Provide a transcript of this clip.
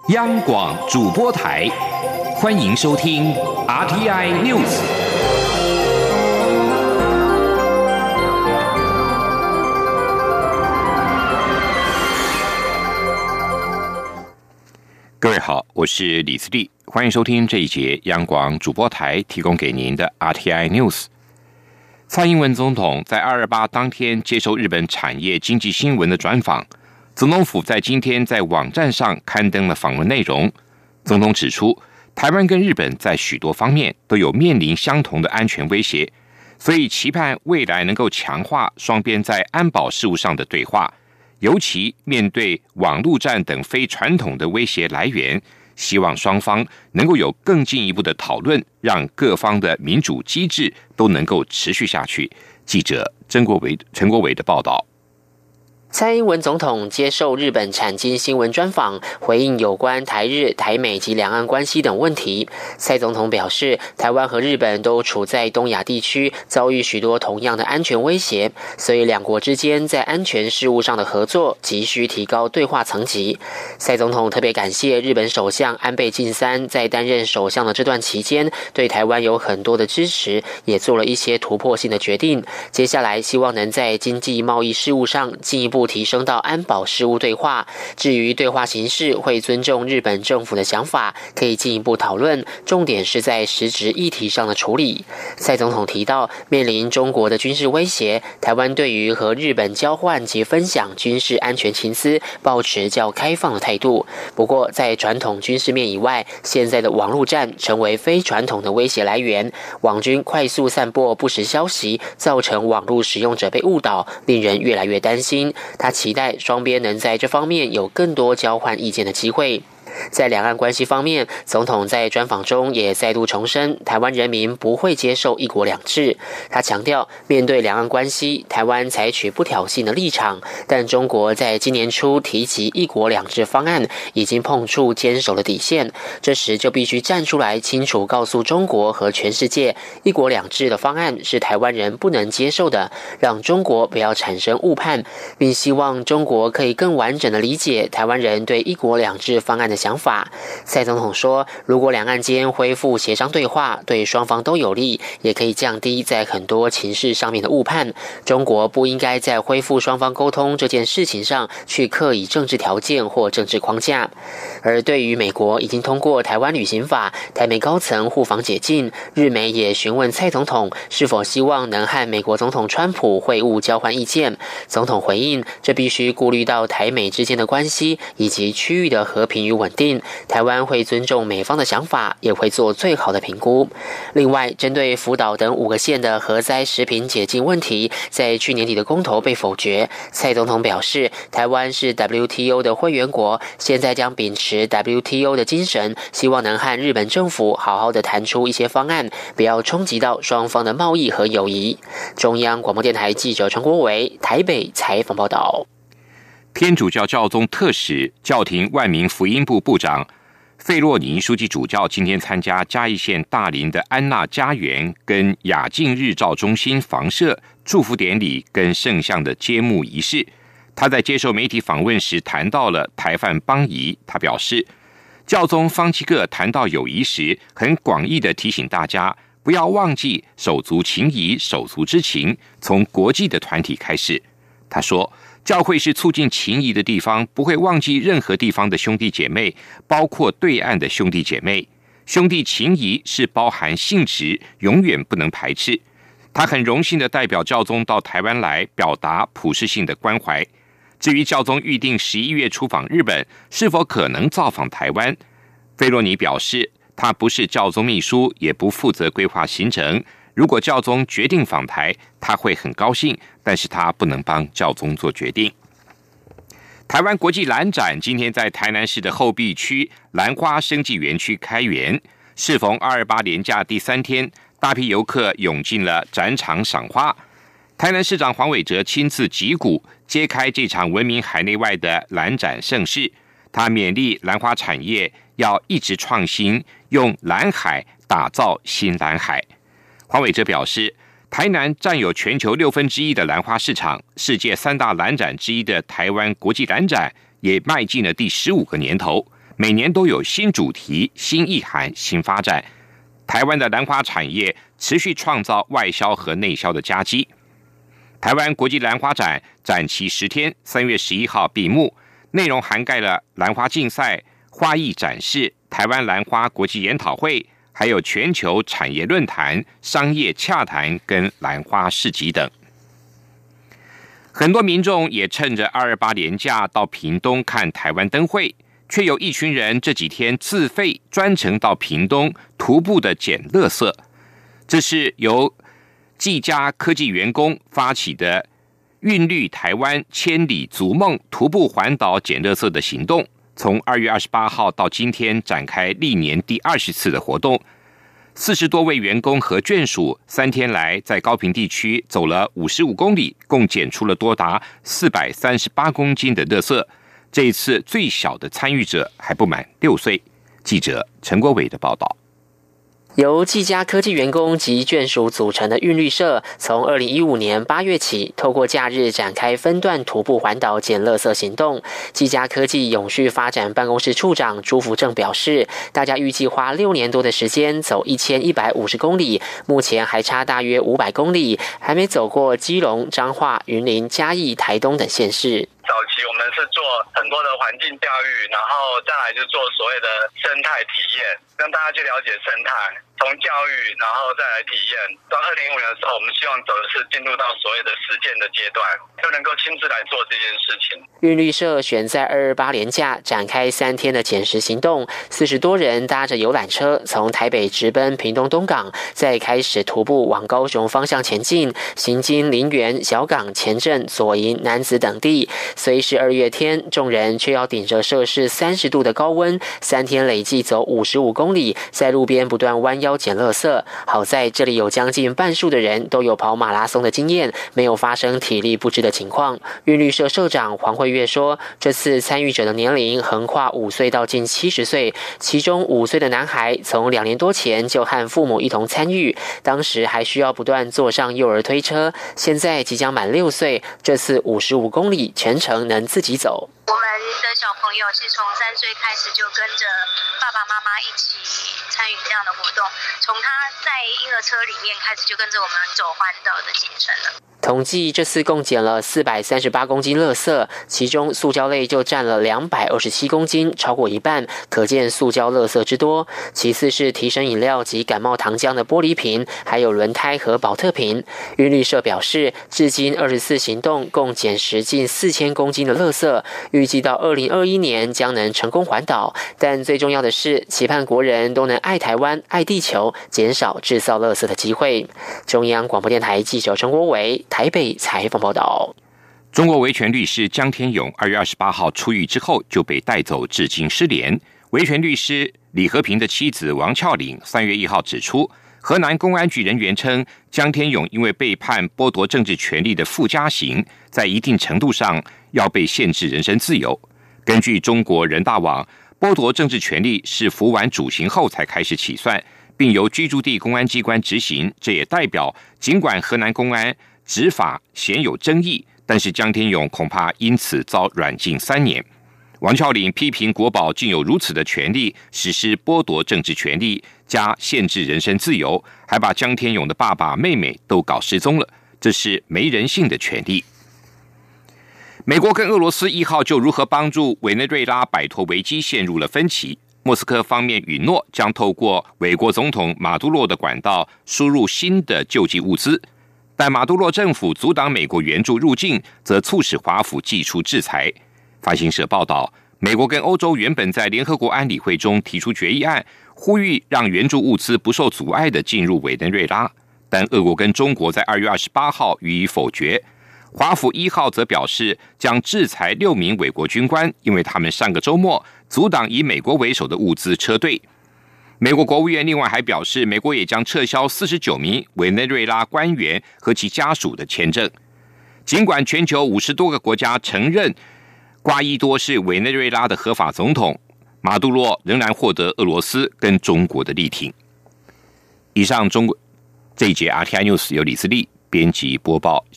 央广主播台，欢迎收听 RTI News。各位好，我是李思利，欢迎收听这一节央广主播台提供给您的 RTI News。蔡英文总统在228当天接受日本产业经济新闻的专访，总统府在今天在网站上刊登了访问内容。总统指出，台湾跟日本在许多方面都有面临相同的安全威胁，所以期盼未来能够强化双边在安保事务上的对话，尤其面对网络战等非传统的威胁来源，希望双方能够有更进一步的讨论，让各方的民主机制都能够持续下去。记者陈国维的报道。 蔡英文总统接受日本产经新闻专访，回应有关台日、台美及两岸关系等问题。蔡总统表示，台湾和日本都处在东亚地区，遭遇许多同样的安全威胁，所以两国之间在安全事务上的合作急需提高对话层级。蔡总统特别感谢日本首相安倍晋三在担任首相的这段期间，对台湾有很多的支持，也做了一些突破性的决定。接下来希望能在经济贸易事务上进一步提升到安保事务对话，至于对话形式会尊重日本政府的想法，可以进一步讨论，重点是在实质议题上的处理。蔡总统提到，面临中国的军事威胁，台湾对于和日本交换及分享军事安全情资抱持较开放的态度。不过在传统军事面以外，现在的网络战成为非传统的威胁来源，网军快速散播不实消息，造成网络使用者被误导，令人越来越担心。他期待双边能在这方面有更多交换意见的机会。在两岸关系方面，总统在专访中也再度重申，台湾人民不会接受一国两制。他强调，面对两岸关系，台湾采取不挑衅的立场，但中国在今年初提及一国两制方案，已经碰触坚守的底线，这时就必须站出来清楚告诉中国和全世界，一国两制的方案是台湾人不能接受的，让中国不要产生误判，并希望中国可以更完整的理解台湾人对一国两制方案的想法。蔡总统说，如果两岸间恢复协商对话，对双方都有利，也可以降低在很多情势上面的误判。中国不应该在恢复双方沟通这件事情上去刻意政治条件或政治框架。而对于美国已经通过台湾旅行法，台美高层互访解禁，日媒也询问蔡总统是否希望能和美国总统川普会晤交换意见。总统回应，这必须顾虑到台美之间的关系以及区域的和平与稳定，台湾会尊重美方的想法，也会做最好的评估。另外，针对福岛等5个县的核灾食品解禁问题，在去年底的公投被否决。蔡总统表示，台湾是 WTO 的会员国，现在将秉持 WTO 的精神，希望能和日本政府好好的谈出一些方案，不要冲击到双方的贸易和友谊。中央广播电台记者陈国维台北采访报道。 天主教教宗特使、教廷万民福音部部长费洛尼书记主教今天参加嘉义县大林的安娜家园跟雅境日照中心房舍祝福典礼跟圣像的揭幕仪式。他在接受媒体访问时谈到了台梵邦谊，他表示，教宗方济各谈到友谊时，很广义的提醒大家不要忘记手足情谊、手足之情，从国际的团体开始。他说，教会是促进情谊的地方，不会忘记任何地方的兄弟姐妹，包括对岸的兄弟姐妹。兄弟情谊是包含性质，永远不能排斥。他很荣幸的代表教宗到台湾来，表达普世性的关怀。至于教宗预定11月出访日本，是否可能造访台湾，费洛尼表示，他不是教宗秘书，也不负责规划行程。如果教宗决定访台，他会很高兴，但是他不能帮教宗做决定。台湾国际兰展今天在台南市的后壁区兰花生技园区开园，适逢228连假第3天，大批游客涌进了展场赏花。台南市长黄伟哲亲自击鼓揭开这场闻名海内外的兰展盛事，他勉励兰花产业要一直创新，用蓝海打造新蓝海。黄伟哲表示，台南占有全球1/6的兰花市场，世界3大兰展之一的台湾国际兰展也迈进了第15个年头。 每年都有新主题、新意涵、新发展。台湾的兰花产业持续创造外销和内销的佳绩。台湾国际兰花展展期10天，3月11号闭幕，内容涵盖了兰花竞赛、花艺展示、台湾兰花国际研讨会，还有全球产业论坛、商业洽谈跟兰花市集等。很多民众也趁着228连假到屏东看台湾灯会，却有一群人这几天自费专程到屏东徒步的捡垃圾。这是由技嘉科技员工发起的韵律台湾千里逐梦徒步环岛捡垃圾的行动，从2月28号到今天展开历年第20次的活动。40多位员工和眷属3天来在高屏地区走了55公里，共捡出了多达438公斤的垃圾。这一次最小的参与者还不满6岁。记者陈国伟的报道。 由技嘉科技员工及眷属组成的韵律社，从2015年8月起，透过假日展开分段徒步环岛捡垃圾行动。技嘉科技永续发展办公室处长朱福正表示，大家预计花6年多的时间走1150公里，目前还差大约500公里，还没走过基隆、彰化、云林、嘉义、台东等县市。 早期我们是做很多的环境教育，然后再来就做所谓的生态体验，让大家去了解生态，从教育然后再来体验。到2015年的时候，我们希望走的是进入到所谓的实践的阶段，就能够亲自来做这件事情。 韵律社选在228连假展开3天的捡拾行动，40多人搭着游览车从台北直奔屏东东港，再开始徒步往高雄方向前进，行经林园、小港、前镇、左营、楠梓等地。虽是2月天，众人却要顶着摄氏30度的高温，3天累计走55公里，在路边不断弯腰捡垃圾。好在这里有将近半数的人都有跑马拉松的经验，没有发生体力不支的情况。韵律社社长黄慧月说，这次参与者的年龄横跨5岁到近70岁，其中5岁的男孩从2年多前就和父母一同参与，当时还需要不断坐上幼儿推车，现在即将满6岁，这次55公里全程能自己走。 我们的小朋友是从3岁开始就跟着爸爸妈妈一起参与这样的活动，从他在婴儿车里面开始就跟着我们走环岛的行程了。 统计这次共捡了438公斤垃圾，其中塑胶类就占了227公斤，超过一半，可见塑胶垃圾之多。其次是提神饮料及感冒糖浆的玻璃瓶，还有轮胎和保特瓶。韵律社表示，至今24行动共捡拾近4000公斤的垃圾，预计到2021年将能成功环岛。但最重要的是，期盼国人都能爱台湾、爱地球，减少制造垃圾的机会。中央广播电台记者陈国伟台北采访报道。 中国维权律师江天勇2月28号出狱之后就被带走，至今失联。维权律师李和平的妻子王峭岭3月1号指出，河南公安局人员称，江天勇因为被判剥夺政治权利的附加刑，在一定程度上要被限制人身自由。根据中国人大网，剥夺政治权利是服完主刑后才开始起算，并由居住地公安机关执行。这也代表，尽管河南公安执法鲜有争议，但是江天勇恐怕因此遭软禁3年。王峭岭批评国保竟有如此的权利，实施剥夺政治权利加限制人身自由，还把江天勇的爸爸妹妹都搞失踪了，这是没人性的权利。美国跟俄罗斯1号就如何帮助委内瑞拉摆脱危机陷入了分歧。莫斯科方面允诺将透过美国总统马杜洛的管道输入新的救济物资，但马杜洛政府阻挡美国援助入境，则促使华府祭出制裁。法新社报道，美国跟欧洲原本在联合国安理会中提出决议案，呼吁让援助物资不受阻碍地进入委内瑞拉，但俄国跟中国在2月28号予以否决。华府1号则表示将制裁6名美国军官，因为他们上个周末阻挡以美国为首的物资车队。美国国务院另外还表示，美国也将撤销49名委内瑞拉官员和其家属的签证。尽管全球50多个国家承认瓜伊多是委内瑞拉的合法总统，马杜罗仍然获得俄罗斯跟中国的力挺。以上这一节 RTI News 由李思利编辑播报。